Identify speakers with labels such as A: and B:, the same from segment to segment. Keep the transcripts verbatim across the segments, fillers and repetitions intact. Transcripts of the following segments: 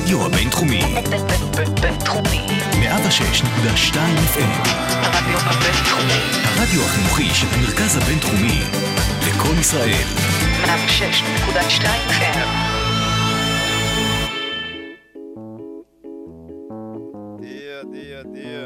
A: הרדיו הבינתחומי.
B: בינתחומי.
A: מאה ושש נקודה שתיים אף אם.
B: הרדיו הבינתחומי.
A: הרדיו החינוכי של המרכז הבינתחומי. לקול ישראל.
B: מאה ושש נקודה שתיים אף אם.
C: דיה, דיה, דיה.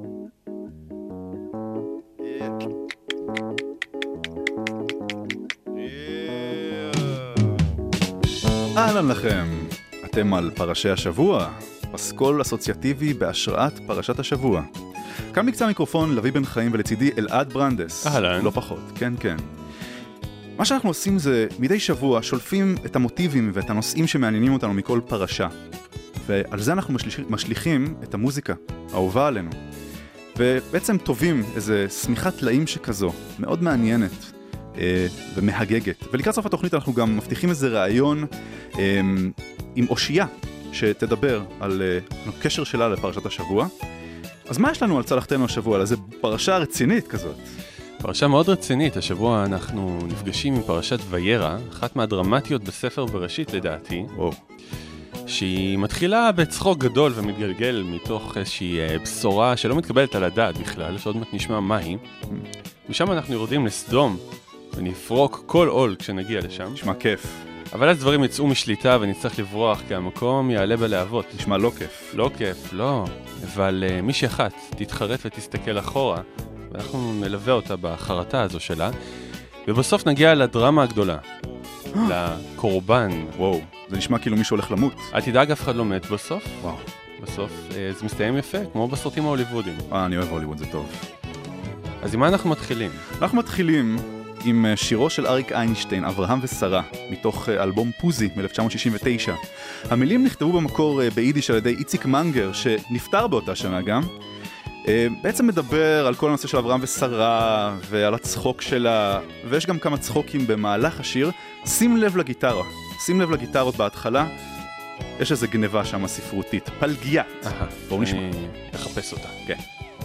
D: אהלן לכם, אתם על פרשי השבוע, פסקול אסוציאטיבי בהשראת פרשת השבוע. כאן מקצה המיקרופון לוי בן חיים ולצידי אלעד ברנדס.
E: אהלן.
D: לא פחות, כן כן. מה שאנחנו עושים זה מדי שבוע שולפים את המוטיבים ואת הנושאים שמעניינים אותנו מכל פרשה. ועל זה אנחנו משליח, משליחים את המוזיקה, האהובה עלינו. ובעצם טובים איזה סמיכת טלאים שכזו, מאוד מעניינת. ומהגגת. ולקראת סוף התוכנית אנחנו גם מבטיחים איזה רעיון עם אושייה שתדבר על הקשר שלה לפרשת השבוע. אז מה יש לנו על צלחתנו השבוע? על איזה פרשה רצינית כזאת?
E: פרשה מאוד רצינית. השבוע אנחנו נפגשים עם פרשת וירא, אחת מהדרמטיות בספר בראשית לדעתי.
D: וואו.
E: שהיא מתחילה בצחוק גדול ומתגלגל מתוך איזושהי בשורה שלא מתקבלת על הדעת בכלל, שעוד מעט נשמע מהי. משם אנחנו יורדים לסדום ונפרוק כל עול כשנגיע לשם.
D: נשמע כיף.
E: אבל אז דברים יצאו משליטה ונצטרך לברוח, כי המקום יעלה בלהבות.
D: נשמע לא כיף.
E: לא כיף, לא. אבל uh, מישהי אחת תתחרט ותסתכל אחורה, ואנחנו נלווה אותה בחרטה הזו שלה, ובסוף נגיע לדרמה הגדולה, לקורבן.
D: וואו, זה נשמע כאילו מישהו הולך למות.
E: אל תדאג, אף אחד לא מת בסוף.
D: וואו.
E: בסוף uh, זה מסתיים יפה, כמו בסרטים ההוליוודיים.
D: אה, אני אוהב הוליווד, זה טוב.
E: אז עם מה אנחנו מתחילים?
D: אנחנו מתחילים עם שירו של אריק איינשטיין, אברהם ושרה, מתוך אלבום פוזי מ-אלף תשע מאות שישים ותשע. המילים נכתבו במקור ביידיש על ידי איציק מנגר, שנפטר באותה שנה גם. בעצם מדבר על כל הנושא של אברהם ושרה, ועל הצחוק שלה, ויש גם כמה צחוקים במהלך השיר. שים לב לגיטרה, שים לב לגיטרות בהתחלה, יש איזו גניבה שם ספרותית, פלגיית. בואו נשמע.
E: אני אחפש אותה.
D: כן.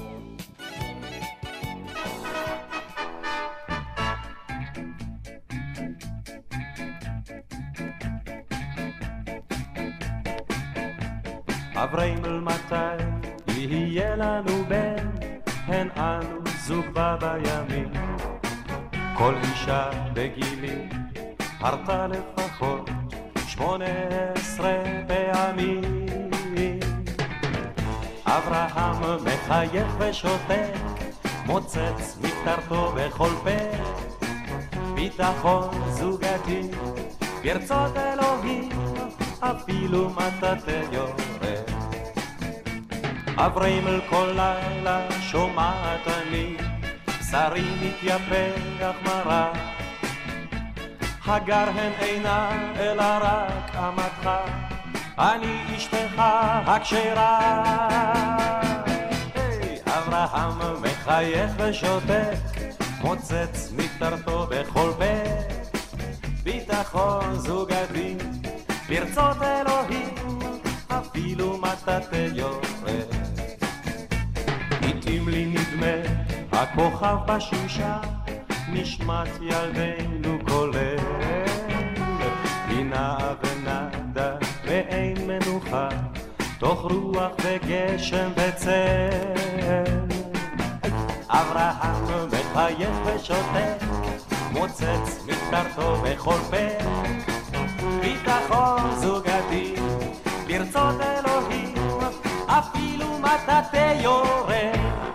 F: אברהם מתי יהיה לנו בן, הן אנו זוג בה בימים. כל אישה בגילי הרתה לפחות שמונה עשרה פעמים. אברהם מחייך ושותק, מוצץ מקטרתו בכל פה. ביטחון זוגתי ברצות אלוהים, אפילו מטאטא יורד. אברהם אל כל לילה שומעת אני, בשרי מתייפח מרה. הגר הן אינה אלא רק אמתך, אני אשתך הכשרה. היי, אברהם מחייך ושותק, מוצץ מקטרתו בכל פה. ביטחון זוגתי ברצות אלוהים, אפילו מטאטא יורד. לעתים לי נדמה הכוכב בשמשה, נשמת ילדינו כולל. היא נעה ונדה ואין מנוחה, תוך רוח וגשם וצל. אברהם מחייך ושותק, מוצץ מקטרתו בכל פה. ביטחון זוגתי ברצות אלוהים, אפילו מטאטא יורד.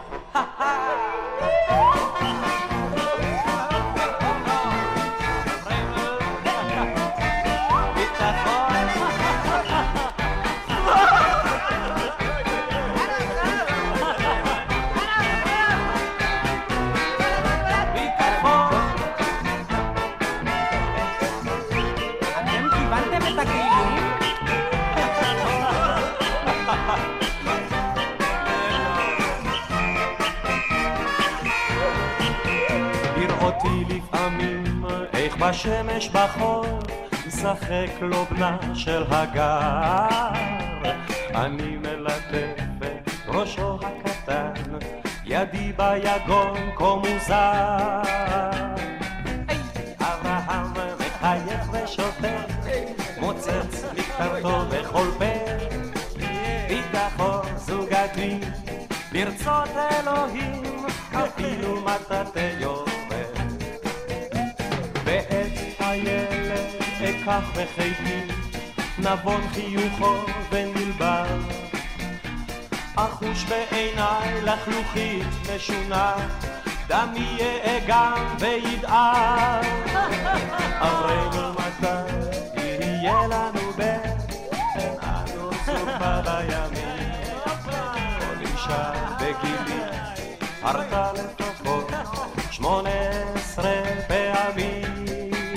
F: בשמש בחור משחק לו בנה של הגר, אני מלטף את ראשו הקטן, ידי ביגון כה מוזר. אברהם מחייך ושותק, מוצץ מקטרתו בכל פה. ברצות אלוהים אפילו מטאטא יורד. ואת הילד אקח בחיתי, נבון חיוכו ונלבר, אחוש בעיניי לחלוכית משונה, דמי יאגם וידער. אמרנו מתי יהיה לנו בן, אין אנו סופה בימים. כל אישה בגילי הרתה לפחות שמונה עשרה פעמים.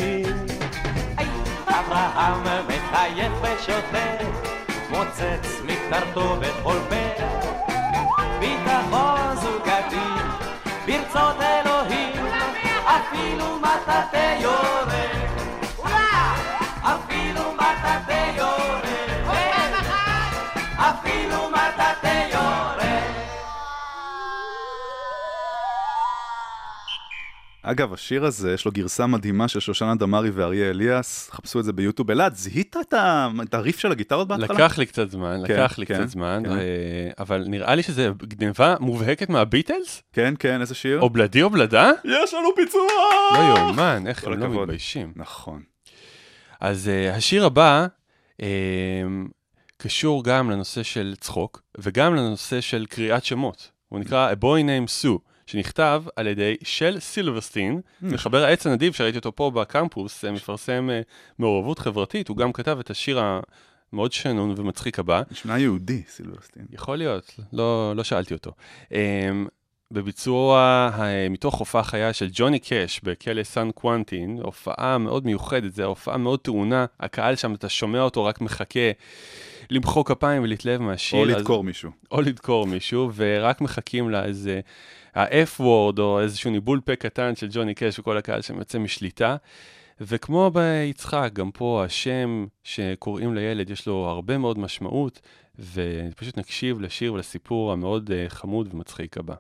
F: אברהם מחייך ושוטט, מוצץ מקטרתו בכל פה, ביטחון זוגתי ברצות אלוהים אפילו מטאטא יורד, אפילו מטאטא יורד, אפילו מטאטא יורד.
D: אגב, השיר הזה, יש לו גרסה מדהימה של שושנה דמארי ואריה אליאס, חפשו את זה ביוטיוב. אלעד, זיהית את הריף של הגיטרות בהתחלה?
E: לקח לי קצת זמן, לקח לי קצת זמן, אבל נראה לי שזה גניבה מובהקת מהביטלס?
D: כן, כן, איזה שיר?
E: או בלדי או בלדה?
D: יש לנו פיצוח!
E: לא יאומן, איך הם לא מתביישים.
D: נכון.
E: אז השיר הבא קשור גם לנושא של צחוק, וגם לנושא של קריאת שמות. הוא נקרא A Boy Named Sue. שנכתב על ידי של סילברסטין, מחבר העץ הנדיב שראיתי אותו פה בקמפוס, מפרסם מעורבות חברתית, הוא גם כתב את השיר המאוד שנון ומצחיק הבא.
D: נשמע יהודי, סילברסטין.
E: יכול להיות, לא, לא שאלתי אותו. בביצוע מתוך הופעה חיה של ג'וני קאש בכלא סן קוונטין, הופעה מאוד מיוחדת, זו הופעה מאוד טעונה, הקהל שם, אתה שומע אותו, רק מחכה למחוא כפיים ולהתלהב מהשיר.
D: או לדקור מישהו.
E: או לדקור מישהו, ורק מחכים לאיזה ה-F-word או איזשהו ניבול פה קטן של ג'וני קאש וכל הקהל שיוצא משליטה. וכמו ביצחק, גם פה השם שקוראים לילד יש לו הרבה מאוד משמעות, ופשוט נקשיב לשיר ולסיפור המאוד חמוד ומצחיק הבא.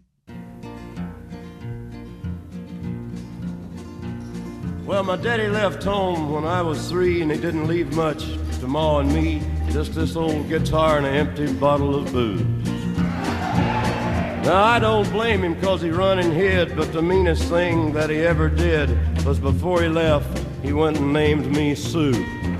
G: Well, my daddy left home when I was three, and he didn't leave much to Ma and me, just this old guitar and an empty bottle of booze. Now, I don't blame him because he run and hid, but the meanest thing that he ever did was before he left, he went and named me Sue.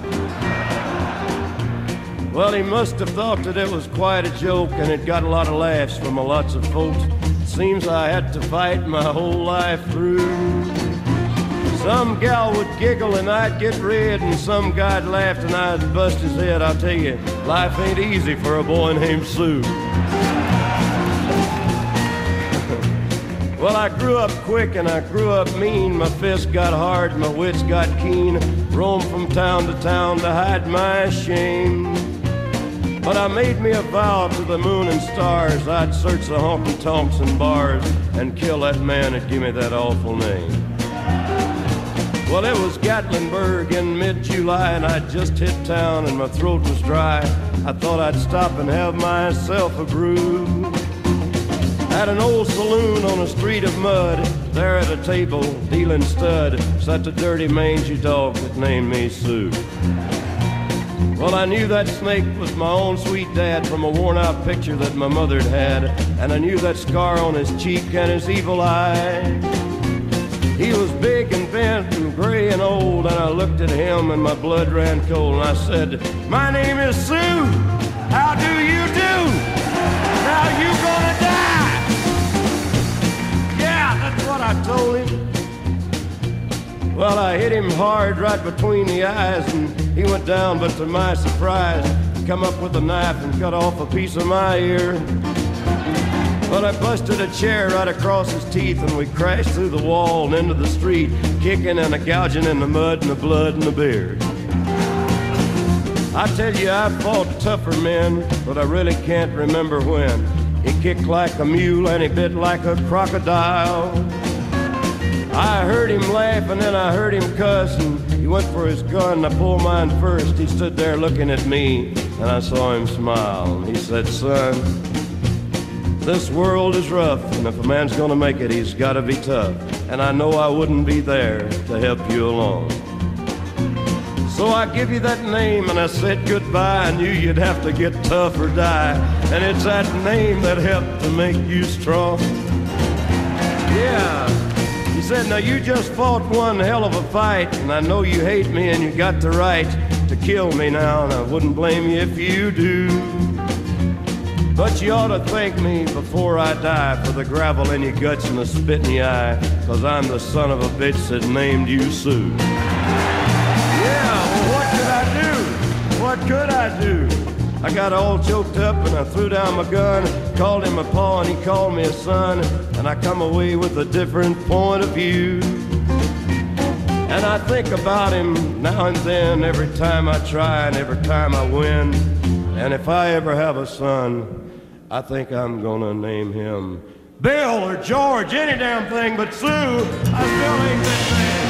G: Well, he must have thought that it was quite a joke, and it got a lot of laughs from lots of folks. Seems I had to fight my whole life through. Some gal would giggle and I'd get red, and some guy'd laugh and I'd bust his head. I'll tell you, life ain't easy for a boy named Sue. Well, I grew up quick and I grew up mean. My fists got hard, my wits got keen. Roamed from town to town to hide my shame. But I made me a vow to the moon and stars, I'd search the honky-tonks and bars and kill that man that gave me that awful name. Well, it was Gatlinburg in mid-July, and I'd just hit town and my throat was dry. I thought I'd stop and have myself a brew. At an old saloon on a street of mud, there at a table, dealing stud, sat the dirty mangy dog that named me Sue. Well, I knew that snake was my own sweet dad from a worn-out picture that my mother'd had, and I knew that scar on his cheek and his evil eye. He was big and bent and gray and old, and I looked at him and my blood ran cold, and I said, "My name is Sue. How do you do? Now you gonna die." Yeah, that's what I told him. Well, I hit him hard right between the eyes, and he went down, but to my surprise, come up with a knife and cut off a piece of my ear. Well, I busted a chair right across his teeth, and we crashed through the wall and into the street, kicking and a gouging in the mud and the blood and the beard. I tell you, I fought tougher men, but I really can't remember when. He kicked like a mule and he bit like a crocodile. I heard him laugh and then I heard him cuss, and he went for his gun and I pulled mine first. He stood there looking at me and I saw him smile, and he said, "Son, this world is rough, and if a man's gonna make it, he's gotta be tough. And I know I wouldn't be there to help you along. So I give you that name and I said goodbye. I knew you'd have to get tough or die. And it's that name that helped to make you strong. Yeah. He said, now you just fought one hell of a fight, and I know you hate me and you got the right to kill me now, and I wouldn't blame you if you do. But you ought to thank me before I die for the gravel in your guts and the spit in your eye, 'cause I'm the son of a bitch that named you Sue. Yeah, well, what could I do? What could I do? I got all choked up and I threw down my gun, called him a pa and he called me a son, and I come away with a different point of view. And I think about him now and then, every time I try and every time I win. And if I ever have a son, I think I'm gonna name him Bill or George, any damn thing but Sue. I still ain't that man.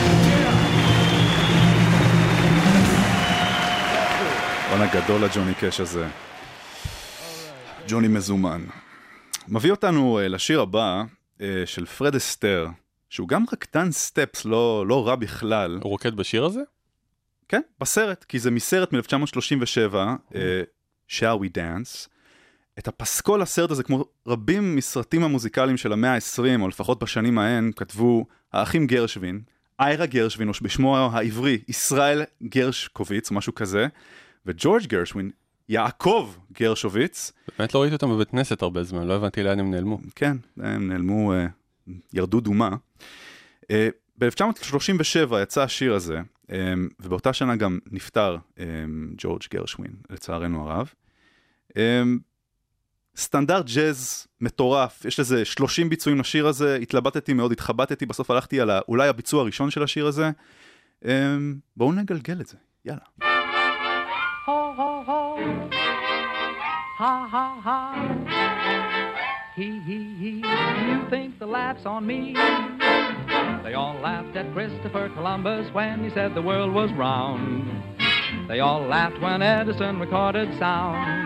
D: בואנה גדול לג'וני קש הזה. ג'וני מזומן. מביא אותנו לשיר הבא של פרד אסטר, שהוא גם רקדן סטפס, לא, לא רע בכלל.
E: הוא רוקד בשיר הזה?
D: כן, בסרט, כי זה מסרט מ-אלף תשע מאות שלושים ושבע, uh, Shall We Dance. את הפסקול הסרט הזה, כמו רבים מסרטים המוזיקליים של המאה ה-עשרים, או לפחות בשנים ההן, כתבו האחים גרשווין, איירה גרשווין, או בשמו העברי, ישראל גרשקוביץ, משהו כזה, וג'ורג' גרשווין, יעקב גרשוביץ.
E: באמת לא ראיתי אותם בבית כנסת הרבה זמן, לא הבנתי לאן הם נעלמו.
D: כן, הם נעלמו, uh, ירדו דומה. Uh, ב-אלף תשע מאות שלושים ושבע יצא השיר הזה, um, ובאותה שנה גם נפטר um, ג'ורג' גרשווין, לצערנו הרב. Um, סטנדרט ג'אז מטורף, יש לזה שלושים ביצועים לשיר הזה, התלבטתי מאוד, התחבטתי, בסוף הלכתי על אולי הביצוע הראשון של השיר הזה. Um, בואו נגלגל את זה, יאללה.
F: Ho, ho, ho. Ha, ha, ha. He, he, he. You think the laugh's on me? They all laughed at Christopher Columbus when he said the world was round. They all laughed when Edison recorded sound.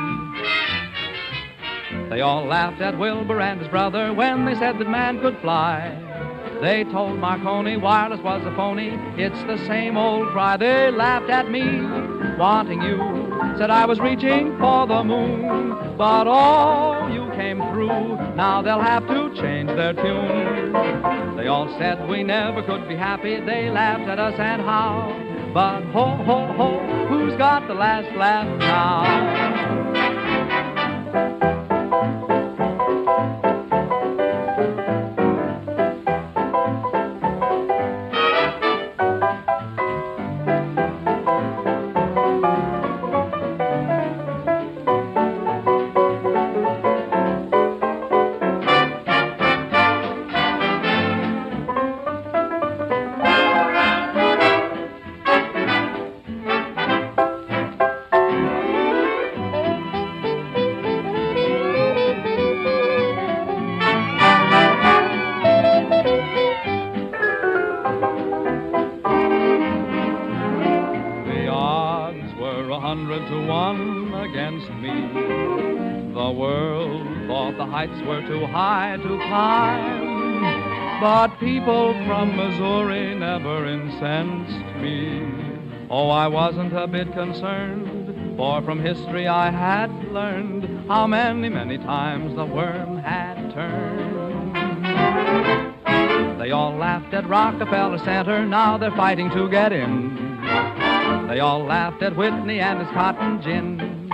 F: They all laughed at Wilbur and his brother when they said that man could fly. They told Marconi wireless was a phony. It's the same old cry. They laughed at me, wanting you. Said I was reaching for the moon, but all you came through. Now they'll have to change their tune. They all said we never could be happy. They laughed at us and how. But ho, ho, ho, who's got the last laugh now? But people from Missouri never incensed me. Oh, I wasn't a bit concerned, for from history I had learned how many, many times the worm had turned. They all laughed at Rockefeller Center, now they're fighting to get in. They all laughed at Whitney and his cotton gin.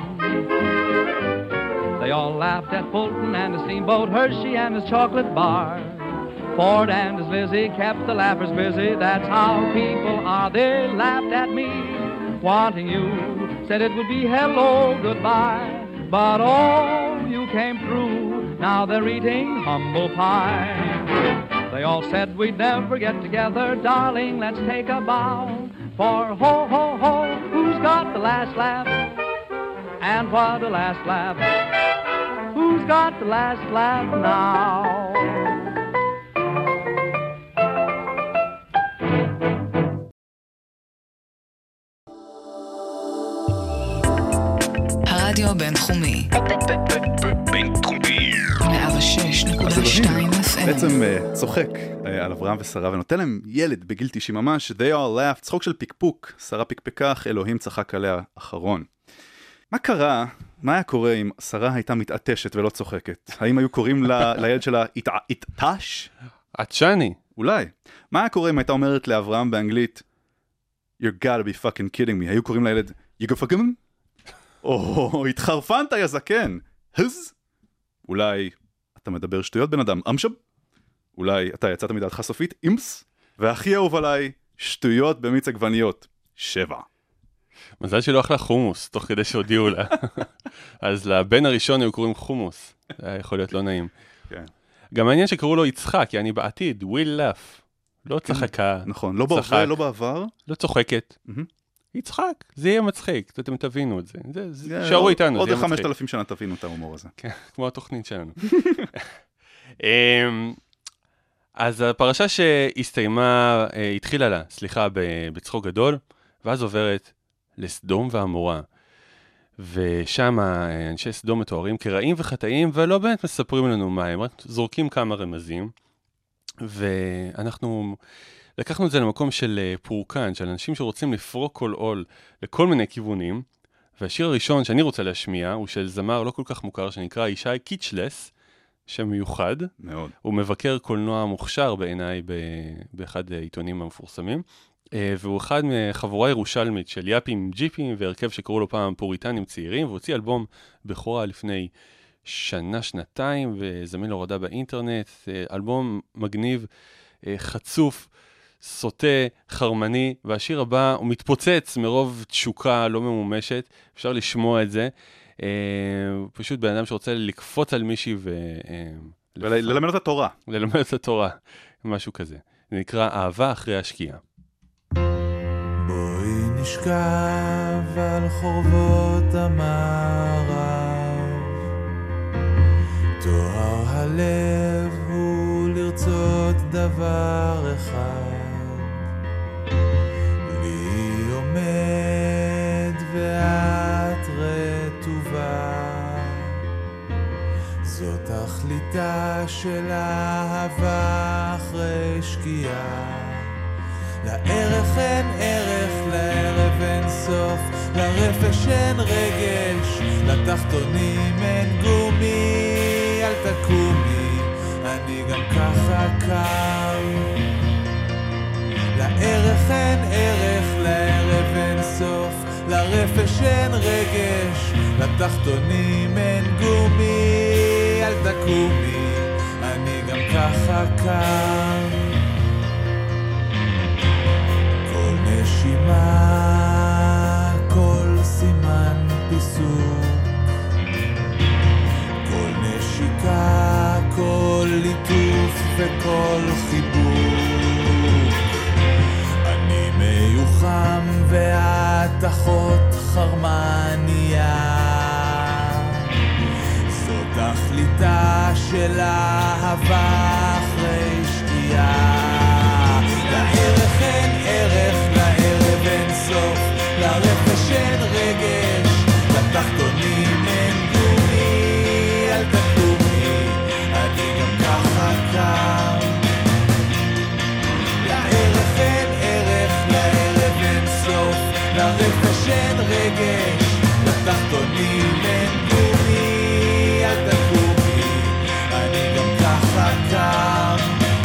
F: They all laughed at Fulton and his steamboat, Hershey and his chocolate bar. Ford and his Lizzie kept the laughers busy. That's how people are. They laughed at me, wanting you. Said it would be hello, goodbye. But oh, you came through. Now they're eating humble pie. They all said we'd never get together. Darling, let's take a bow. For ho, ho, ho, who's got the last laugh? And what a last laugh. Who's got the last laugh now?
B: הרדיו הבינתחומי.
A: בינתחומי.
B: מאה ושש נקודה
D: אז
B: שתיים
D: אלוהים
B: אף אם.
D: בעצם uh, צוחק uh, על אברהם ושרה ונותן להם ילד בגיל תשעים ממש, they all laughed, צחוק של פיקפוק, שרה פיקפקה, אלוהים צחק עליה אחרון. מה קרה? מה היה קורה אם שרה הייתה מתעטשת ולא צוחקת? האם היו קוראים ל- לילד שלה התעטש?
E: עטשני.
D: אולי. מה היה קורה אם הייתה אומרת לאברהם באנגלית You gotta be fucking kidding me? היו קוראים לילד You go fucking? או התחרפנת יא זקן. הז? אולי אתה מדבר שטויות בן אדם. אמשב? אולי אתה יצאת מדעתך סופית? אימס? והכי אהוב עליי, שטויות במיץ עגבניות. שבע.
E: מזל שלא אכלה חומוס, תוך כדי שהודיעו לה. אז לבן הראשון היו קוראים חומוס. זה היה יכול להיות לא נעים.
D: כן.
E: גם העניין שקראו לו יצחק, כי אני בעתיד, will laugh. לא צחקה.
D: נכון, לא בעבר, לא בעבר.
E: לא צוחקת.
D: מהמם.
E: יצחק, זה יהיה מצחיק, אתם תבינו את זה. זה- זה-
D: זה-
E: שערו איתנו,
D: עוד
E: זה יהיה
D: חמשת
E: מצחיק.
D: אלפים שנה תבינו את ההומור הזה.
E: כן, כמו התוכנית שלנו. אמ, אז הפרשה שהסתיימה, אה, התחילה לה, סליחה, ב- בצחוק גדול, ואז עוברת לסדום ועמורה. ושם אה, אנשי סדום מתוארים כרעים וחטאים, ולא באמת מספרים לנו מה הם, רק זורקים כמה רמזים. ואנחנו לקחנו את זה למקום של אה, פורקן, של אנשים שרוצים לפרוק כל עול לכל מיני כיוונים. והשיר הראשון שאני רוצה להשמיע הוא של זמר לא כל כך מוכר שנקרא ישי קיצ'לס, שם מיוחד.
D: מאוד.
E: הוא מבקר קולנוע מוכשר בעיניי ב- באחד העיתונים המפורסמים, אה, והוא אחד מחבורה ירושלמית של יאפים ג'יפים והרכב שקראו לו פעם פוריטנים צעירים, והוא הוציא אלבום בכורה לפני שנה, שנתיים, וזמין להורדה באינטרנט, אה, אלבום מגניב, אה, חצוף, סוטה, חרמני, והשיר הבא הוא מתפוצץ מרוב תשוקה לא ממומשת, אפשר לשמוע את זה. אה, פשוט בן אדם שרוצה לקפוץ על מישהי ו... אה,
D: וללמד את התורה.
E: ללמד את התורה, משהו כזה. זה נקרא אהבה אחרי השקיעה.
H: בואי נשכב על חורבות המערב, תואר הלב הוא לרצות דבר אחד, לי עומד ואת רטובה, זאת תכליתה של אהבה אחרי שקיעה. לערך אין ערך, לערב אין סוף, לרפש אין רגש, לתחתונים אין גומי, אל תקומי, אני גם ככה קם. לערך אין ערך, לערב אין סוף, לרפש אין רגש, לתחתונים אין גומי, אל תקומי, אני גם ככה קם. כל נשימה, כל סימן פיסוק, כל נשיקה, כל ליטוף וכל חיבוק. אני מיוחם ואת אחות חרמניה, זאת תכליתה של אהבה אחרי שקיעה. לערך אין ערך, לערב אין סוף, לרפש אין רגש, לתחתונים אין גומי, אל תקומי, אני גם ככה קם. לערך אין ערך, לערב אין סוף, לרפש אין רגש, לתחתונים אין גומי, אל תקומי, אני גם ככה קם.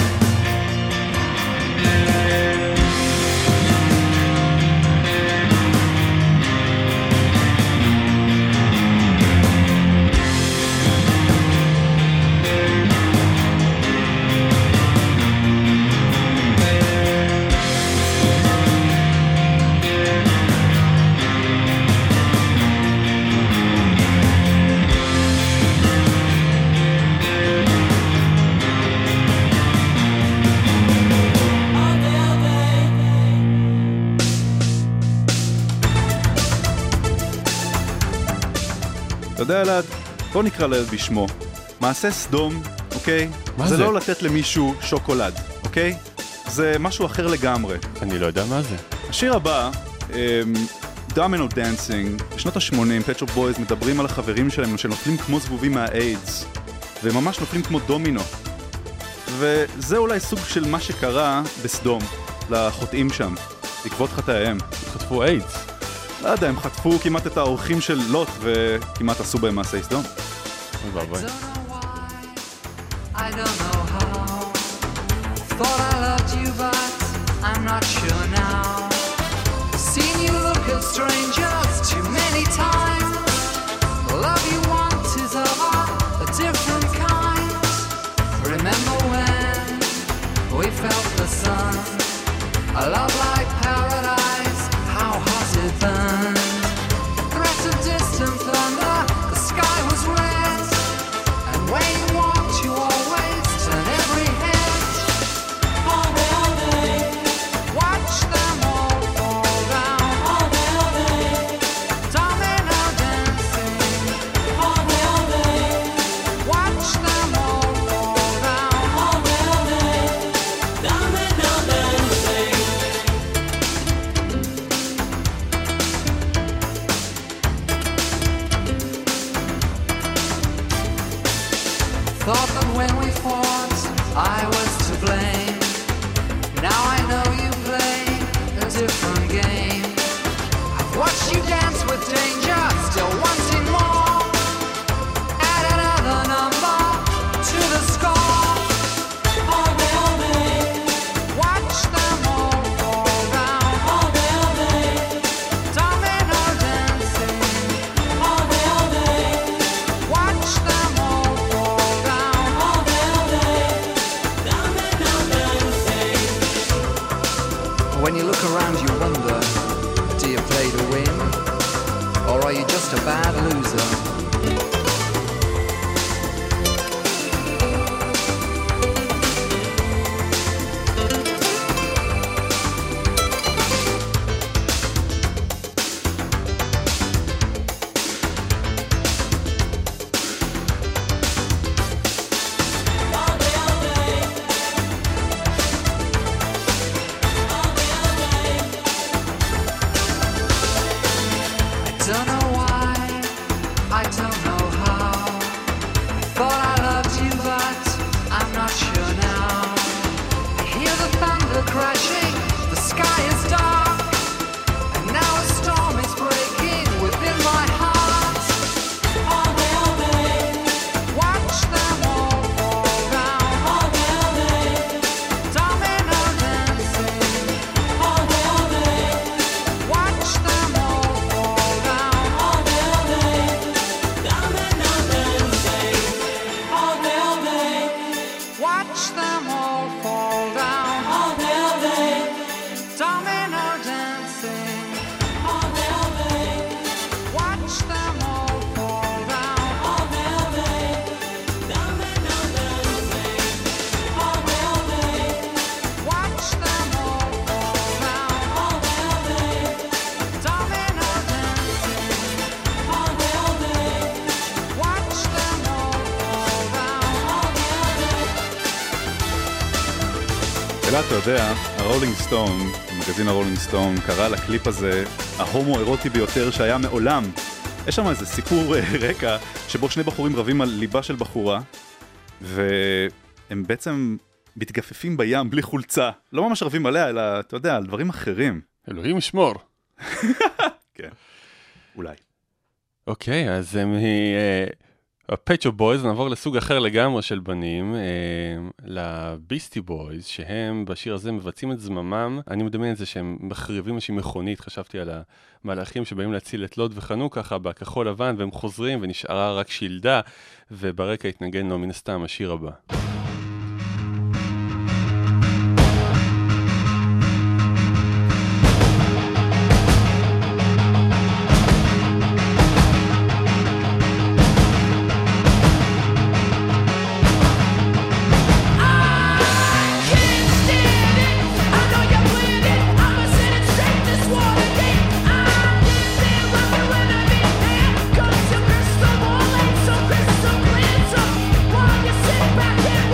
D: אתה יודע אלעד, בוא נקרא לילד בשמו. מעשה סדום, אוקיי?
E: מה
D: זה?
E: זה?
D: לא לתת למישהו שוקולד, אוקיי? זה משהו אחר לגמרי.
E: אני לא יודע מה זה.
D: השיר הבא, אמ, Domino Dancing, בשנות ה-שמונים, Pet Shop Boys מדברים על החברים שלהם שנופלים כמו זבובים מהאיידס, והם ממש נופלים כמו דומינו. וזה אולי סוג של מה שקרה בסדום, לחוטאים שם, בעקבות חטאיהם.
E: חטפו איידס.
D: לא יודע, הם חטפו כמעט את האורחים של לוט, וכמעט עשו בהם מעשי סדום.
E: ביי ביי.
B: I don't know how. Thought I loved you, but I'm not sure now. Seen you look at strangers too many times. The love you want is of a different kind. Remember when we felt the sun? A love like paradise, how hot it burned. Threat of distant thunder, the sky was red. And when you walked, you always turn every head. All day, all day, watch them all fall down. All day, all day, domino dancing. All day, all day, watch them all fall down. All day, all day, domino dancing. Thought that when we fought, I was to blame. Now I know you play a different game. I've watched you dance with danger, still wanting more. Add another number to the score. All day, all day, watch them all fall down. All day, all day, domino dancing. All day, all day, watch them all fall down. All day, all day, domino dancing. When you look around, you wonder, do you play to win? Or are you just a bad loser? I don't know why, I don't know how. I thought I loved you, but I'm not sure now. I hear the thunder crashing, the sky is dark, and now a storm is breaking within my heart. All day, all day, watch them all fall down. All day, all day, domino dancing. All day, all day, watch them all fall down. All day, all day, domino dancing. All day, all day, watch them all fall down. All day, all day, domino dancing. All day, all day, watch them all fall down. All day, all day, domino dancing. All day, all day, watch them all fall down. All day, all day, domino dancing. All day, all day, watch them all fall down. All day, all day.
D: אלא אתה יודע, הרולינג סטון, מגזין הרולינג סטון, קרא לקליפ הזה ההומו-אירוטי ביותר שהיה מעולם. יש שם איזה סיפור אה, רקע שבו שני בחורים רבים על ליבה של בחורה, והם בעצם מתגפפים בים בלי חולצה. לא ממש רבים עליה, אלא אתה יודע, על דברים אחרים.
E: אלוהים ישמור.
D: כן, אולי.
E: אוקיי, אז מ-Pet Shop Boys נעבור לסוג אחר לגמרי של בנים, לביסטי בויז, שהם בשיר הזה מבצעים את זממם. אני מדמיין את זה שהם מחריבים איזושהי מכונית, חשבתי על המלאכים שבאים להציל את לוט וחנו ככה בכחול לבן, והם חוזרים ונשארה רק שילדה, וברקע התנגן לו מן הסתם השיר הבא.
I: Back in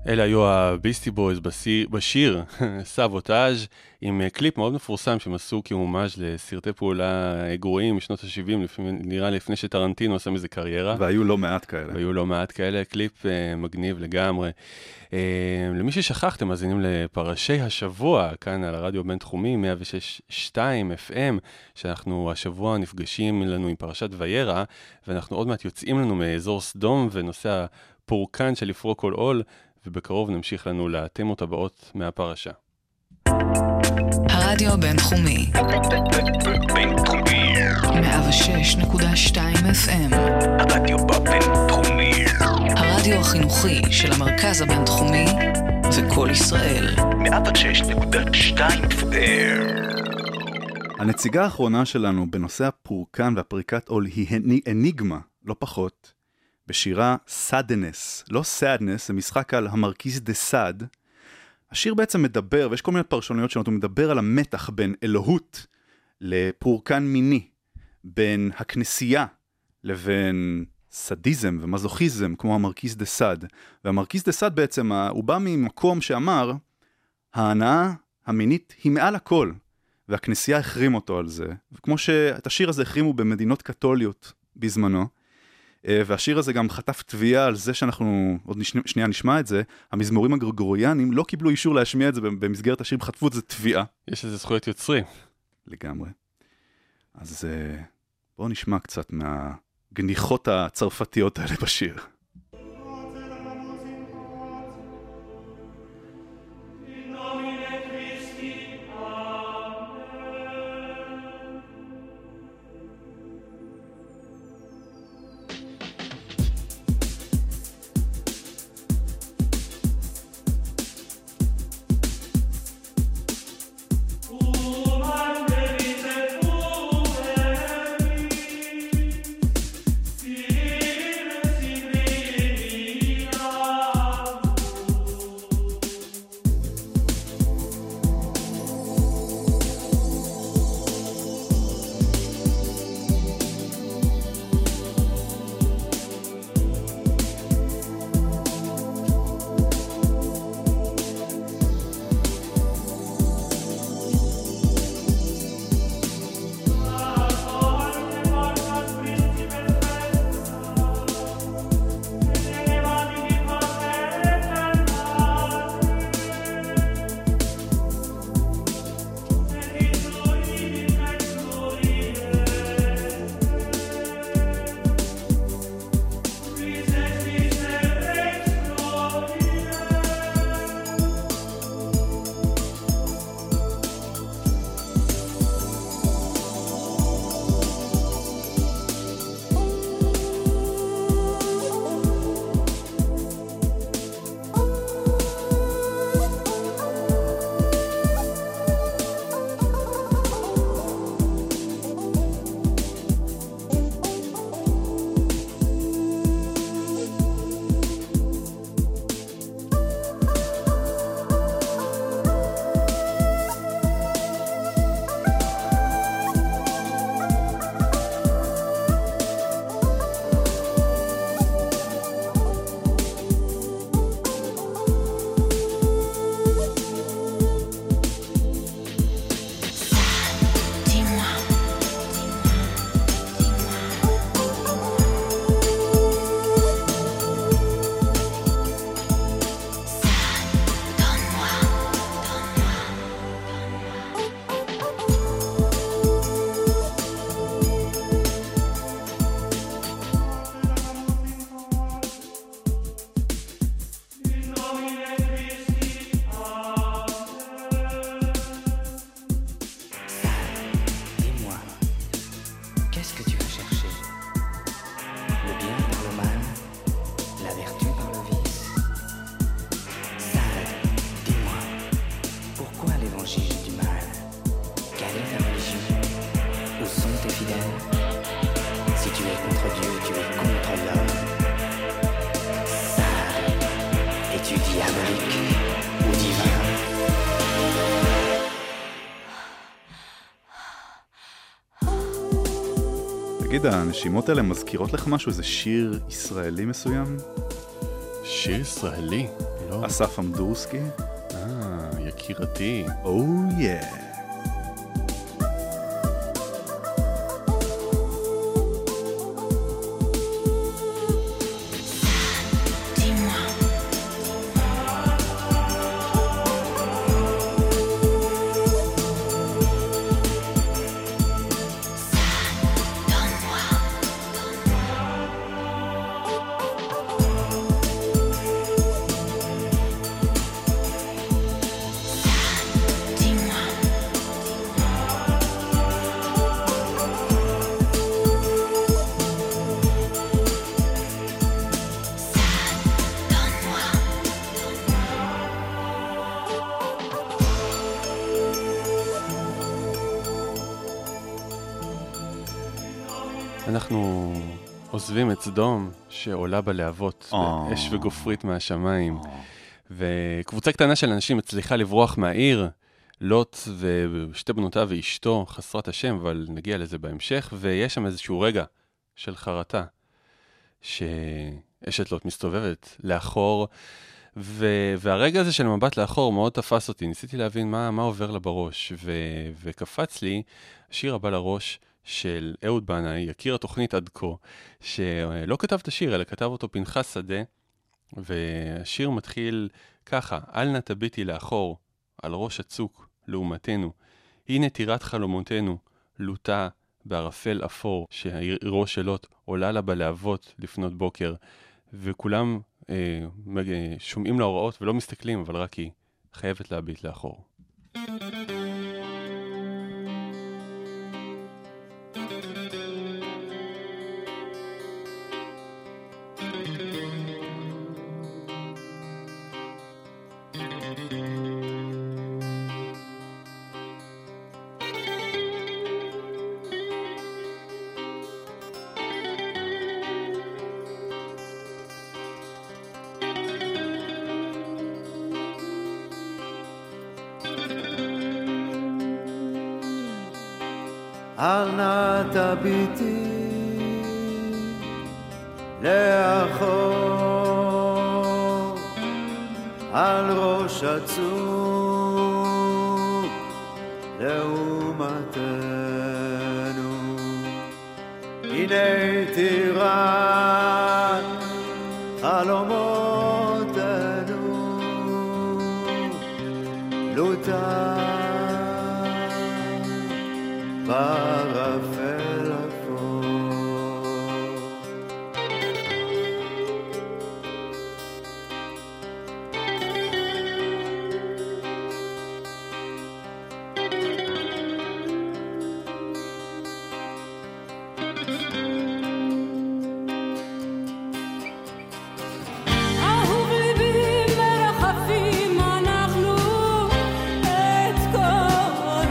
E: אלה היו הביסטי בויז בשיר סאבוטאז' עם קליפ מאוד מפורסם שהם עשו כמומש לסרטי פעולה גרועים משנות ה-שבעים, נראה לפני שטרנטינו עשה מזה קריירה.
D: והיו לא מעט כאלה.
E: והיו לא מעט כאלה, קליפ uh, מגניב לגמרי. Uh, למי ששכחתם, מאזינים לפרשי השבוע, כאן על הרדיו בינתחומי, מאה ושש נקודה שתיים אף אם, שאנחנו השבוע נפגשים לנו עם פרשת וירא, ואנחנו עוד מעט יוצאים לנו מאזור סדום ונושא הפורקן של לפרוק כל עול, ובקרוב נמשיך לנו לתמות הבאות מהפרשה.
I: הרדיו בינתחומי
A: בינתחומי
I: מאה ושש נקודה שתיים אף אם
A: הרדיו בינתחומי
I: הרדיו החינוכי של המרכז הבינתחומי וכל ישראל
A: מאה ושש נקודה שתיים אף אם.
D: הנציגה האחרונה שלנו בנושא הפורקן והפריקת עול היא אניגמה, לא פחות, בשירה סאדנס, לא סאדנס, זה משחק על המרקיז דה סאד. השיר בעצם מדבר, ויש כל מיני פרשנויות שונות, הוא מדבר על המתח בין אלוהות לפורקן מיני, בין הכנסייה לבין סדיזם ומזוכיזם, כמו המרקיז דה סאד. והמרקיז דה סאד בעצם, הוא בא ממקום שאמר, ההנאה המינית היא מעל הכל, והכנסייה החרים אותו על זה. וכמו שאת השיר הזה החרימו במדינות קתוליות בזמנו, והשיר הזה גם חטף תביעה על זה שאנחנו, עוד שנייה נשמע את זה, המזמורים הגרגוריאנים לא קיבלו אישור להשמיע את זה במסגרת השיר, חטפו את זה תביעה.
E: יש איזה זכויות יוצרים.
D: לגמרי. אז בואו נשמע קצת מהגניחות הצרפתיות האלה בשיר. תגיד, הנשימות האלה מזכירות לך משהו, איזה שיר ישראלי מסוים?
E: שיר ישראלי? לא.
D: אסף אמדורסקי.
E: אה, יקירתי.
D: או יא.
E: אנחנו עוזבים את סדום שעולה בלהבות, באש וגופרית מהשמיים, וקבוצה קטנה של אנשים מצליחה לברוח מהעיר, לוט ושתי בנותיו ואשתו חסרת השם, אבל נגיע לזה בהמשך, ויש שם איזשהו רגע של חרטה, שאשת לוט מסתובבת לאחור, ו- והרגע הזה של מבט לאחור מאוד תפס אותי, ניסיתי להבין מה, מה עובר לה בראש, ו- וקפץ לי השיר הבא לראש, של אהוד בנאי, יכיר התוכנית עד כה, שלא כתב את השיר, אלא כתב אותו פנחס שדה, והשיר מתחיל ככה, אל נא תביטי לאחור, על ראש הצוק, לעומתנו, הנה טירת חלומותינו, לוטה בערפל אפור, שהעירו שלוט עולה לה בלהבות לפנות בוקר, וכולם אה, שומעים להוראות ולא מסתכלים, אבל רק היא חייבת להביט לאחור.
H: אל נא תביטי לאחור על ראש הצוק לעומתנו, הנה טירת חלומותינו, לוטה בערפל אפור.
J: אהוב ליבי מרחפים אנחנו את כל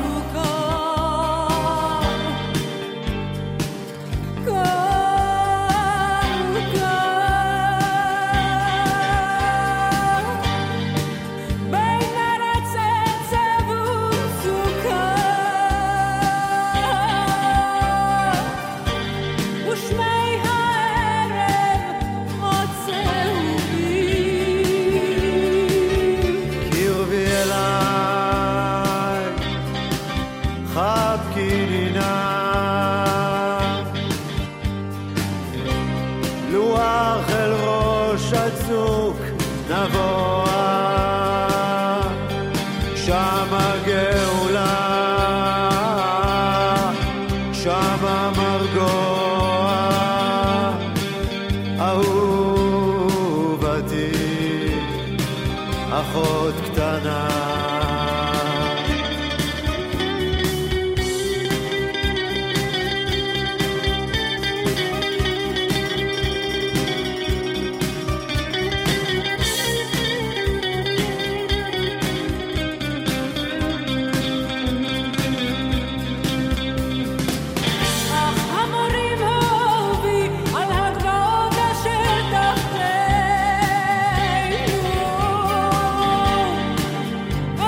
J: אחות קטנה. Oh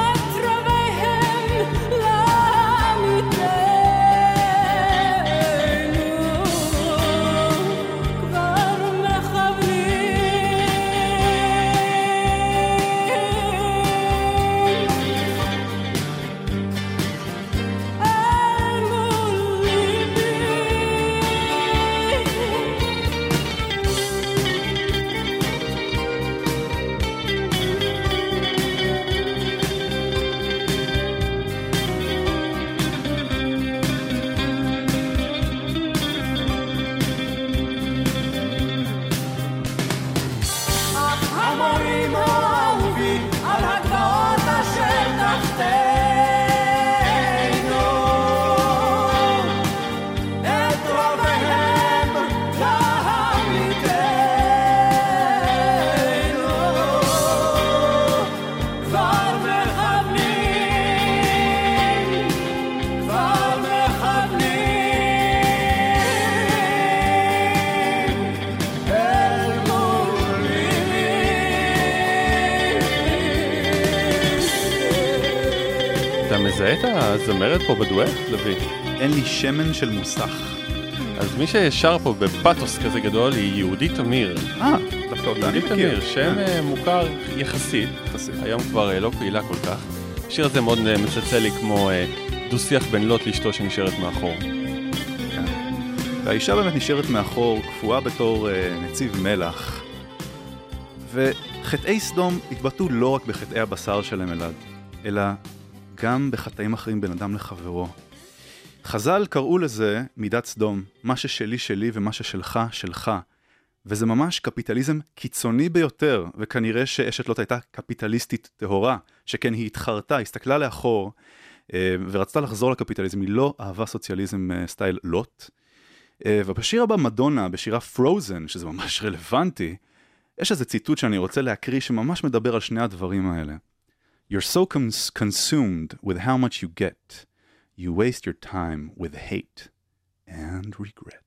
E: מזהה את הזמרת פה בדואט, לוי?
D: אין לי שמן של מוסך.
E: אז מי ששר פה בפאטוס כזה גדול היא יהודית תמיר.
D: אה, דווקא אותה אני
E: יהודית
D: מכיר.
E: תמיר, שם אה. מוכר יחסית.
D: יחסית.
E: היום כבר אה, לא פעילה כל כך. השיר הזה מאוד אה, מצלצל לי כמו אה, דו-שיח בין לוט לאשתו שנשארת מאחור.
D: כן. והאישה באמת נשארת מאחור, קפואה בתור אה, נציב מלח. וחטאי סדום התבטאו לא רק בחטאי הבשר שלהם אלעד, אלא גם בחטאים אחרים בין אדם לחברו. חז"ל קראו לזה מידת סדום, מה ששלי שלי ומה ששלך שלך. וזה ממש קפיטליזם קיצוני ביותר, וכנראה שאשת לוט הייתה קפיטליסטית טהורה, שכן היא התחרתה, הסתכלה לאחור, ורצתה לחזור לקפיטליזם, היא לא אהבה סוציאליזם סטייל לוט. ובשיר הבא מדונה, בשירה פרוזן, שזה ממש רלוונטי, יש איזה ציטוט שאני רוצה להקריא שממש מדבר על שני הדברים האלה. You're so cons- consumed with how much you get. You waste your time with hate and regret.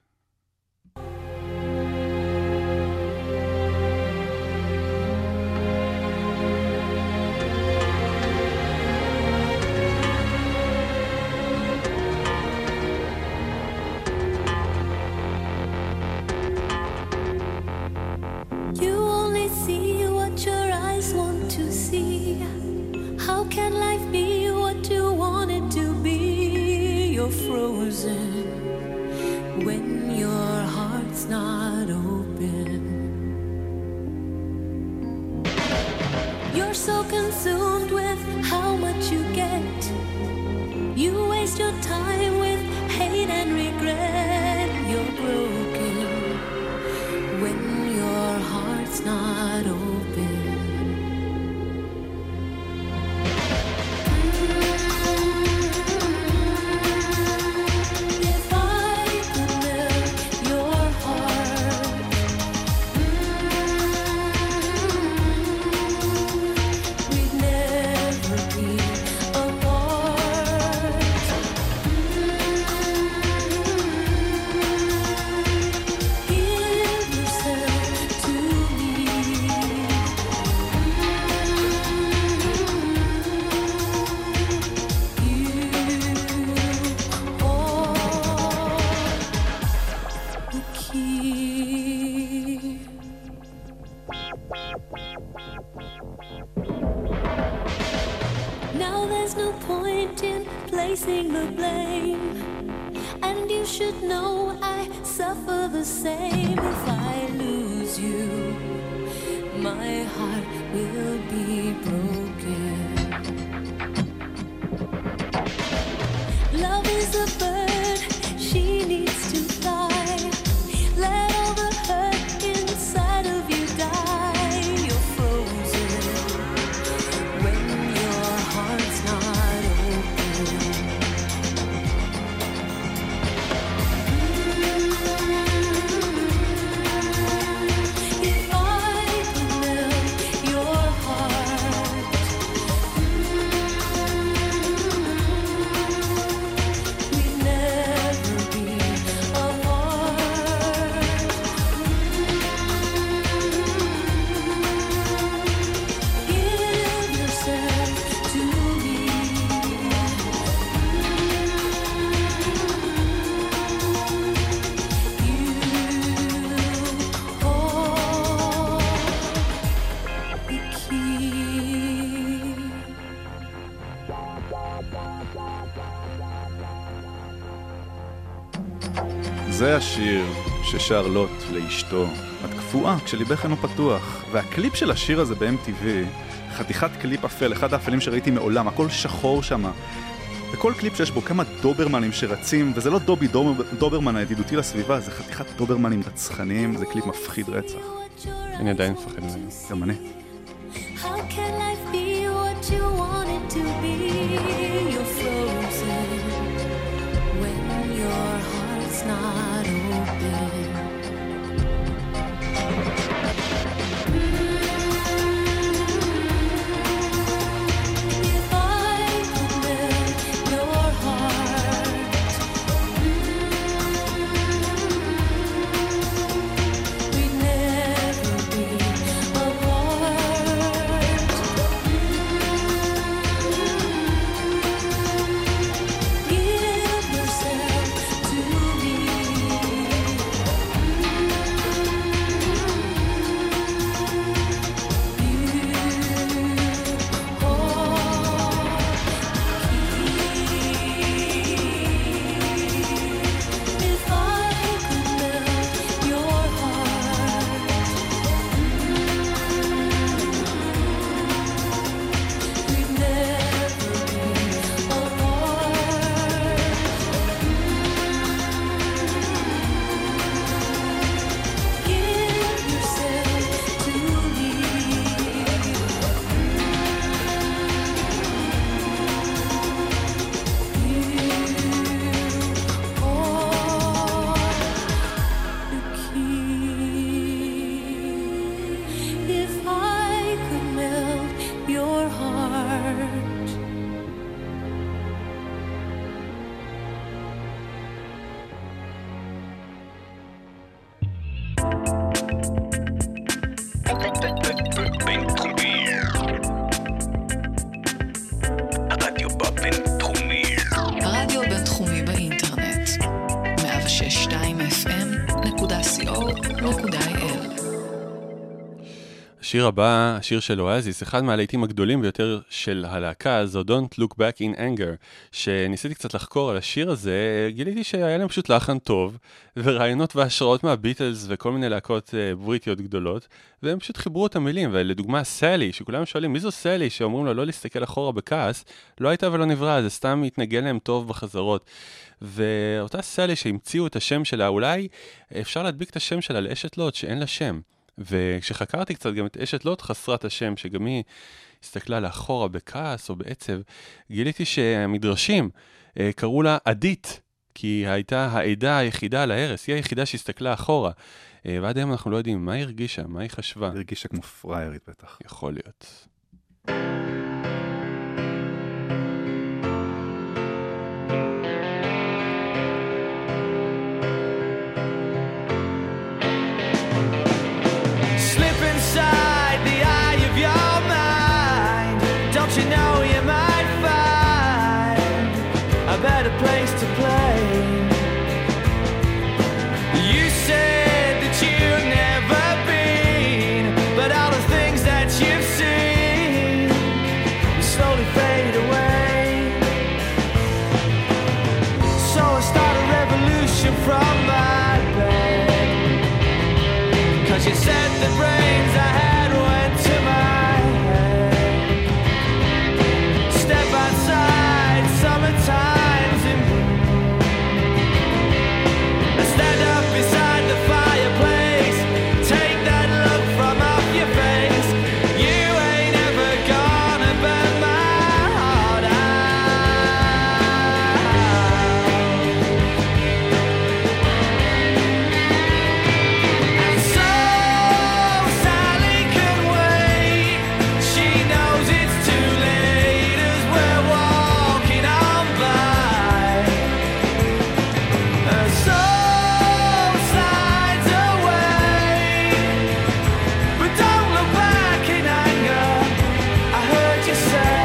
J: You only see what your eyes want to see. How can life be what you want it to be? You're frozen when your heart's not open. You're so consumed with how much you get. You waste your time with hate and regret. You're broken when your heart's not open. If I could melt your heart, we'd never be apart. Give yourself to me. You are the key. Now there's no point in placing the blame, and you should know I suffer the same. If I lose you, my heart will be broken. Love is a bird, she needs to fly. Let all the hurt inside of you die. You're frozen when your heart's not open. If I could melt your heart, we'd never be apart. Give yourself to me. You are the key.
D: זה השיר ששר לוט לאשתו. את קפואה כשליבך אינו פתוח. והקליפ של השיר הזה ב-אם טי וי, חתיכת קליפ אפל, אחד האפלים שראיתי מעולם, הכל שחור שמה. וכל קליפ שיש בו כמה דוברמנים שרצים, וזה לא דובי דובר, דוברמן הידידותי לסביבה, זה חתיכת דוברמנים רצחניים, זה קליפ מפחיד רצח.
E: אני עדיין מפחד ממנו.
D: גם אני.
J: How can life be what you want it to be? You're frozen when your heart's not open. If I could melt your heart, we'd never be apart.
E: השיר הבא, השיר של אואזיס, אחד מהלהיטים הגדולים ביותר של הלהקה הזו, Don't Look Back in Anger, שניסיתי קצת לחקור על השיר הזה, גיליתי שהיה להם פשוט לחן טוב, ורעיונות והשראות מהביטלס וכל מיני להקות בריטיות גדולות, והם פשוט חיברו את המילים, ולדוגמה סלי, שכולם שואלים מי זו סלי, שאומרים לו לא להסתכל אחורה בכעס, לא הייתה ולא נברא, זה סתם התנגן להם טוב בחזרות. ואותה סלי שהמציאו את השם שלה, אולי אפשר להדביק את השם שלה לאשת לוט שאין לה שם. וכשחקרתי קצת גם את אשת לוט חסרת השם, שגם היא הסתכלה לאחורה בכעס או בעצב, גיליתי שהמדרשים אה, קראו לה עדית, כי הייתה העדה היחידה על ההרס, היא היחידה שהסתכלה אחורה. אה, ועד היום אנחנו לא יודעים מה היא הרגישה, מה היא חשבה.
D: היא הרגישה כמו פריירית בטח.
E: יכול להיות.
H: Inside the eye of your mind, don't you know you might find a better place to play? You said that you've never been, but all the things that you've seen slowly fade away. So I start a revolution from my bed, 'cause you said the brains I had went to my head. Step outside, summertime's in bloom. I stand up beside the fireplace, take that look from off your face. You ain't ever gonna burn my heart out. And so Sally can wait. She knows it's too late as we're walking on by. Her soul slides away, but don't look back in anger. I heard you say.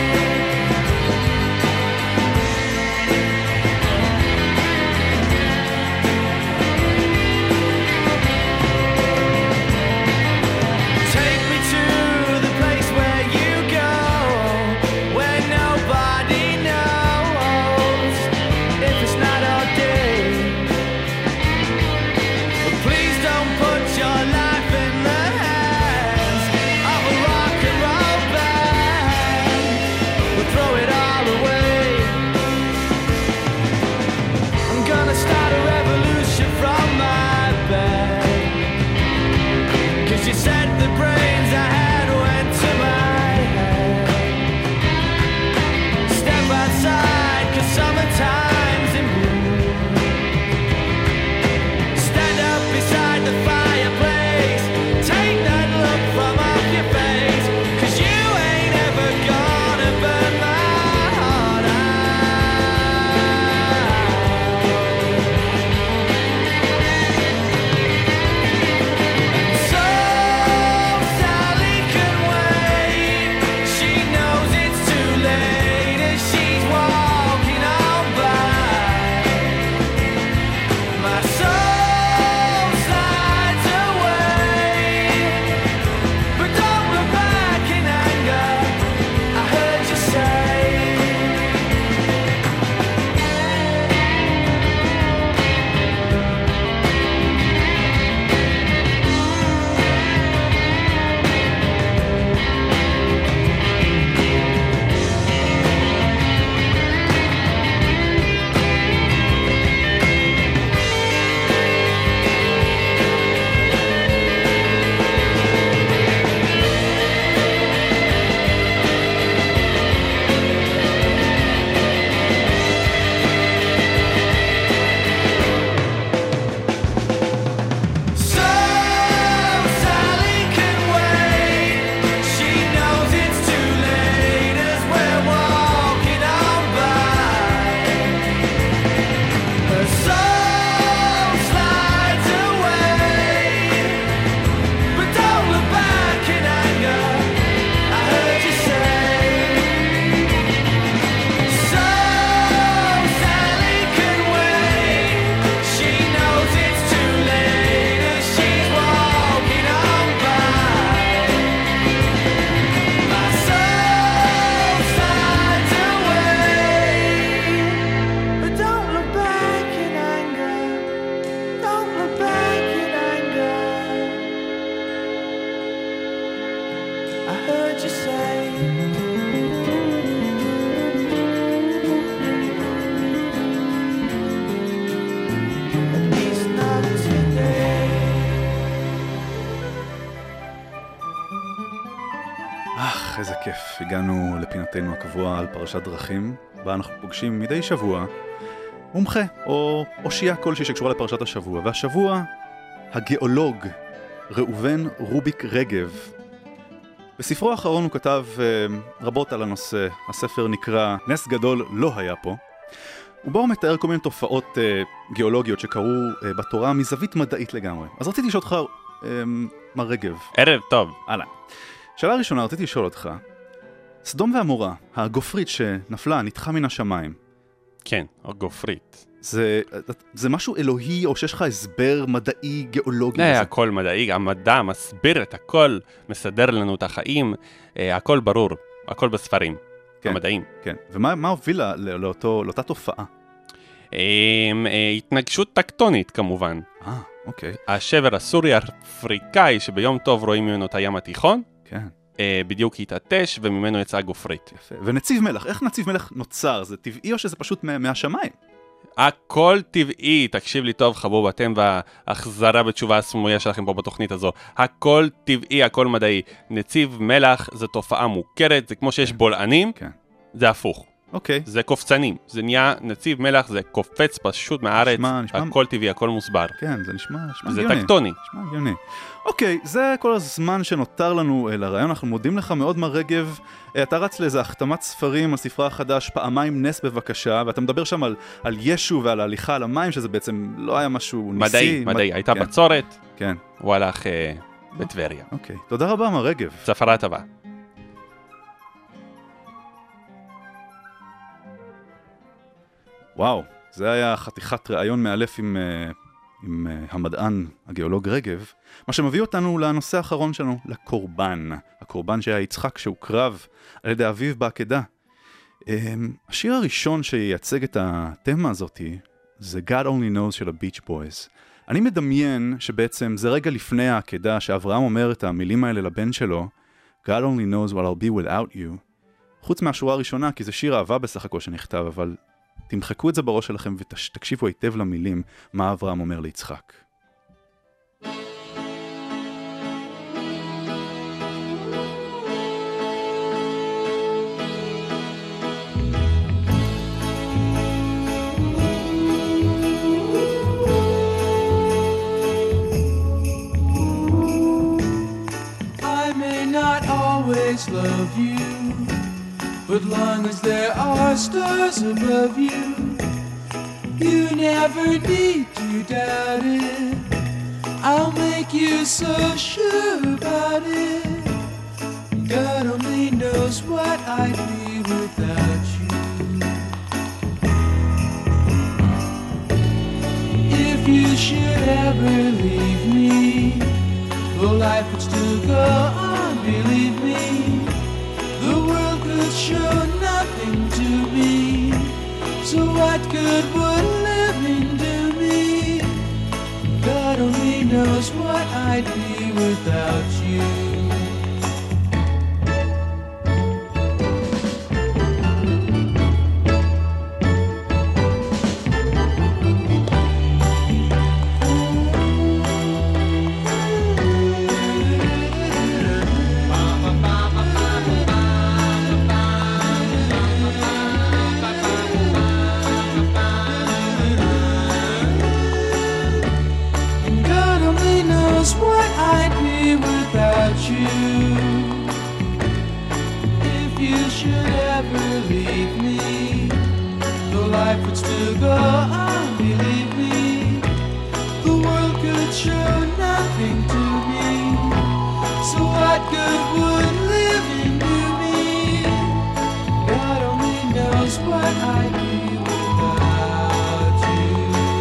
H: Take me to the place where you go, where nobody knows if it's night or day. But please don't put your life in the hands of a rock and roll band. We'll throw it all away. I'm gonna start a revolution from my bed, 'cause you said the brains I had went to my head. Step outside, 'cause summertime's in bloom. Stand up beside the fireplace, take that look from off your face, 'cause you ain't ever gonna burn my heart out. So Sally
D: אך, איזה כיף. הגענו לפינתנו הקבועה על פרשת דרכים, בה אנחנו פוגשים מדי שבוע מומחה או אושייה כלשהי שקשורה לפרשת השבוע. והשבוע, הגיאולוג ראובן רוביק רגב. בספרו האחרון הוא כתב uh, רבות על הנושא. הספר נקרא נס גדול לא היה פה. ובו הוא מתאר כל מיני תופעות uh, גיאולוגיות שקרו uh, בתורה מזווית מדעית לגמרי. אז רציתי לשאול אותך, uh, מר רגב.
E: ערב טוב.
D: הלאה. שאלה ראשונה, רציתי לשאול אותך. סדום ועמורה, הגופרית שנפלה, נתחה מן השמיים.
E: כן, הגופרית.
D: זה, זה משהו אלוהי, או שיש לך הסבר מדעי, גיאולוגי?
E: זה הכל מדעי, המדע מסביר את הכל, מסדר לנו את החיים, הכל ברור, הכל בספרים,
D: כן,
E: המדעים.
D: כן, ומה מה הובילה לאותו, לאותה תופעה?
E: התנגשות טקטונית כמובן.
D: אה, אוקיי.
E: השבר הסורי-אפריקאי שביום טוב רואים ממנו את הים התיכון,
D: כן.
E: בדיוק התעטש וממנו יצאה גופרית.
D: יפה. ונציב מלח, איך נציב מלח נוצר? זה טבעי או שזה פשוט מהשמיים?
E: הכל טבעי, תקשיב לי טוב חבוב, אתם והחזרה בתשובה הסמויה שלכם פה בתוכנית הזו. הכל טבעי, הכל מדעי. נציב מלח זה תופעה מוכרת, זה כמו שיש בולענים,
D: כן.
E: זה הפוך.
D: אוקיי.
E: זה קופצנים, זה נהיה נציב מלח, זה קופץ פשוט מהארץ,
D: נשמע, נשמע...
E: הכל טבעי, הכל מוסבר.
D: כן, זה נשמע, נשמע
E: זה
D: הגיוני.
E: טקטוני.
D: נשמע הגיוני. אוקיי, זה כל הזמן שנותר לנו לרעיון, אנחנו מודים לך מאוד מר רגב. אתה רץ לאיזה החתמת ספרים על ספרה החדש, פעמיים נס בבקשה, ואתה מדבר שם על, על ישו ועל ההליכה על המים, שזה בעצם לא היה משהו ניסי.
E: מדעי, מדעי,
D: מד...
E: הייתה
D: כן.
E: בצורת,
D: כן.
E: הוא הלך אה, בטבריה.
D: אוקיי, תודה רבה מר רגב.
E: צפרה טובה.
D: וואו, זה היה חתיכת ראיון מאלף עם, עם המדען, הגיאולוג רגב, מה שמביא אותנו לנושא האחרון שלנו, לקורבן. הקורבן שהיה יצחק שהוקרב על ידי אביו בעקדה. השיר הראשון שייצג את התמה הזאת זה God Only Knows של הביץ' בויז. אני מדמיין שבעצם זה רגע לפני העקדה שאברהם אומר את המילים האלה לבן שלו, God only knows what I'll be without you. חוץ מהשורה הראשונה, כי זה שיר אהבה בסך הכל שנכתב, אבל תמחקו את זה בראש שלכם ותקשיבו היטב למילים מה אברהם אומר ליצחק.
H: I may not always love you, but long as there are stars above you, you never need to doubt it. I'll make you so sure about it. God only knows what I'd be without you. If you should ever leave me, though life would still go on, believe me, the world could show nothing to me. So what good would living do me? God only knows what I'd be without you. What I'd be without you. If you should ever leave me, though life would still go on, believe me, the world could show nothing to me. So what good would living do me? God only knows what I'd be without you.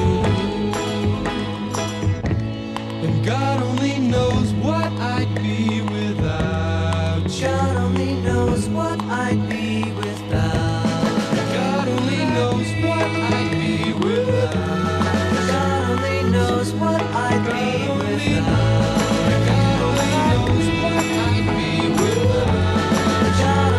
H: And God only knows what I'd be without you. God only knows what I'd be without. God only knows what I'd be without. God only knows what I'd be without. God only knows what I'd be without. God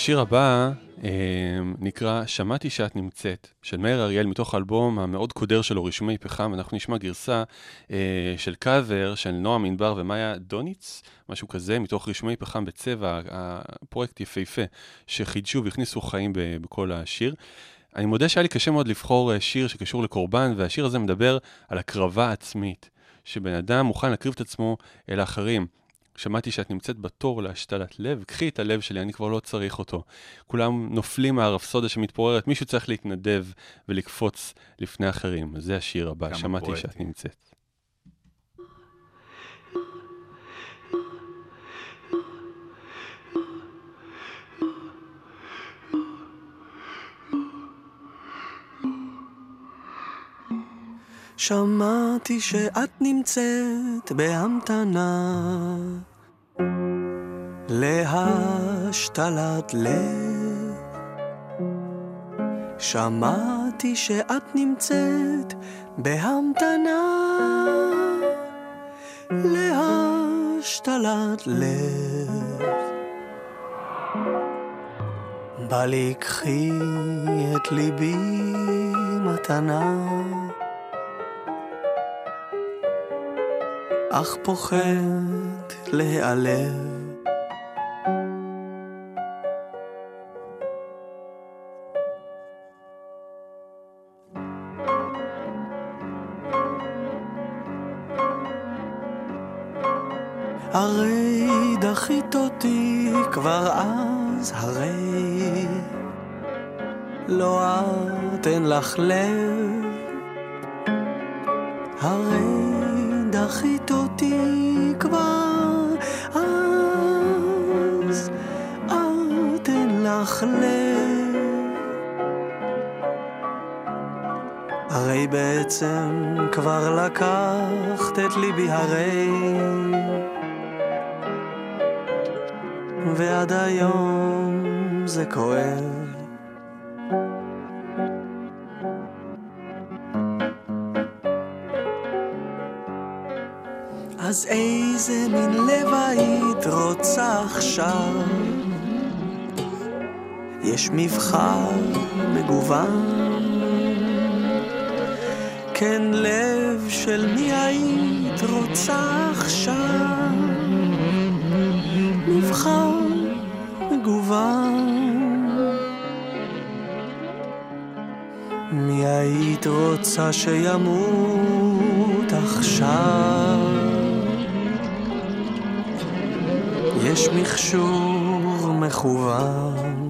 E: השיר הבא אה, נקרא שמעתי שאת נמצאת, של מאיר אריאל, מתוך האלבום המאוד קודר שלו, רישומי פחם. אנחנו נשמע גרסה אה, של קאבר של נועם ענבר ומאיה דוניץ, משהו כזה, מתוך רישומי פחם בצבע, הפרויקט יפהפה שחידשו והכניסו חיים ב- בכל השיר. אני מודה שהיה לי קשה מאוד לבחור שיר שקשור לקורבן, והשיר הזה מדבר על הקרבה עצמית, שבן אדם מוכן להקריב את עצמו אל האחרים. שמעתי שאת נמצאת בתור להשתלת לב, קחי את הלב שלי, אני כבר לא צריך אותו. כולם נופלים מהרפסודה שמתפוררת, מישהו צריך להתנדב ולקפוץ לפני אחרים. זה השיר הבא, שמעתי פואטי. שאת נמצאת.
K: שמעתי שאת נמצאת בהמתנה להשתלת לב. שמעתי שאת נמצאת בהמתנה להשתלת לב. בא לי קחי את ליבי מתנה, אך פוחד להיעלב. הרי דחית אותי כבר אז, הרי לא את אין לך לב. הרי דחית אותי כבר אז, את אין לך לב. הרי בעצם כבר לקחת את ליבי, הרי ועד היום זה כואב. אז איזה מין לב היית רוצה עכשיו? יש מבחר מגוון, כן לב של מי היית רוצה עכשיו? מבחר מגוון. מי היית רוצה שימות עכשיו? יש מכשור מכוון.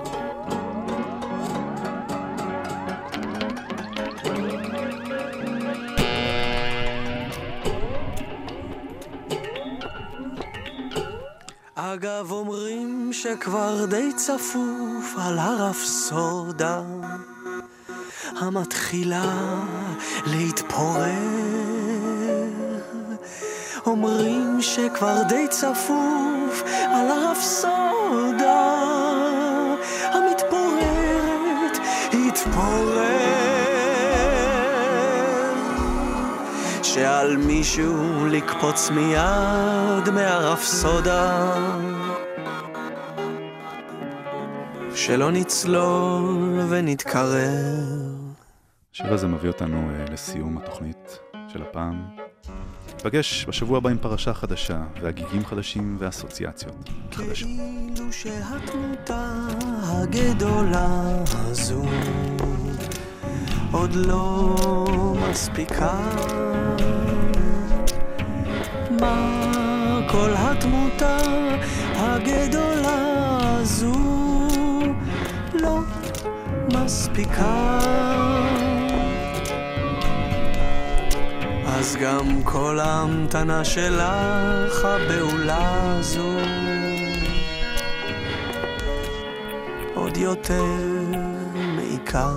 K: אגב אומרים שכבר די צפוף על הרפסודה המתחילה להתפורר. אומרים שכבר די צפוף על הרפסודה המתפוררת התפורר. שעל מישהו לקפוץ מיד מהרפסודה, שלא נצלול ונתקרר.
D: השיר הזה מביא אותנו uh, לסיום התוכנית של הפעם. נפגש בשבוע הבא עם פרשה חדשה והגיגים חדשים ואסוציאציות חדשות.
K: כאילו שהתמותה הגדולה הזו עוד לא מספיקה. מה כל התמותה הגדולה הזו לא מספיקה? אז גם כל ההמתנה שלך הבעולה הזו עוד יותר מעיקה.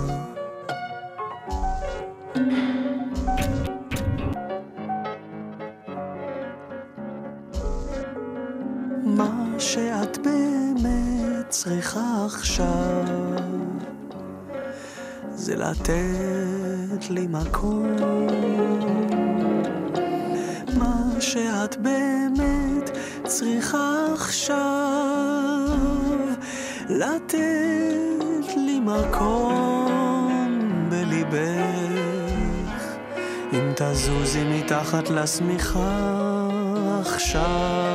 K: מה שאת באמת צריכה עכשיו זה לתת לי מקום. מה שאת באמת צריכה עכשיו לתת לי מקום בליבך, אם תזוזי מתחת לשמיכה עכשיו.